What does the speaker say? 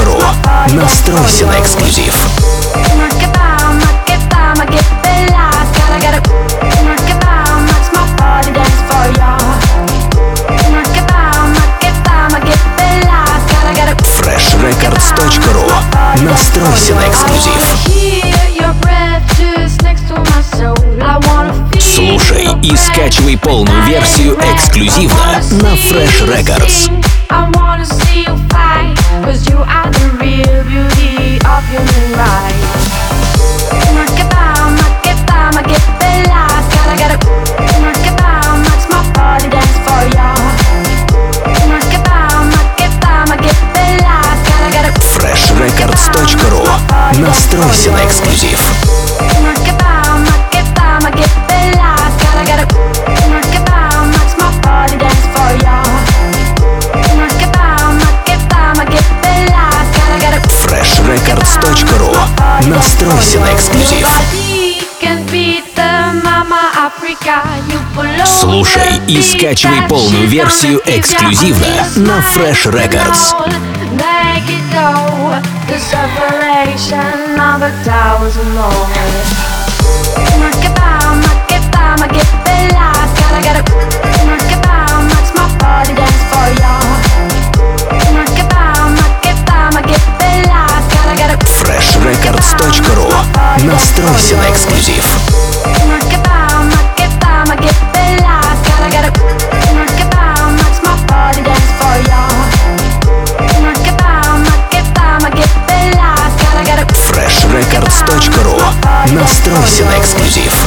freshrecords.ru. Настройся на эксклюзив. freshrecords.ru. Настройся на эксклюзив. Слушай и скачивай полную версию эксклюзивно на Fresh Records. freshrecords.ru. Настройся на эксклюзив. freshrecords.ru. Настройся на эксклюзив. Слушай и скачивай полную версию эксклюзивно на Fresh Records. freshrecords.ru. Настройся на эксклюзив. freshrecords.ru. Настройся на эксклюзив.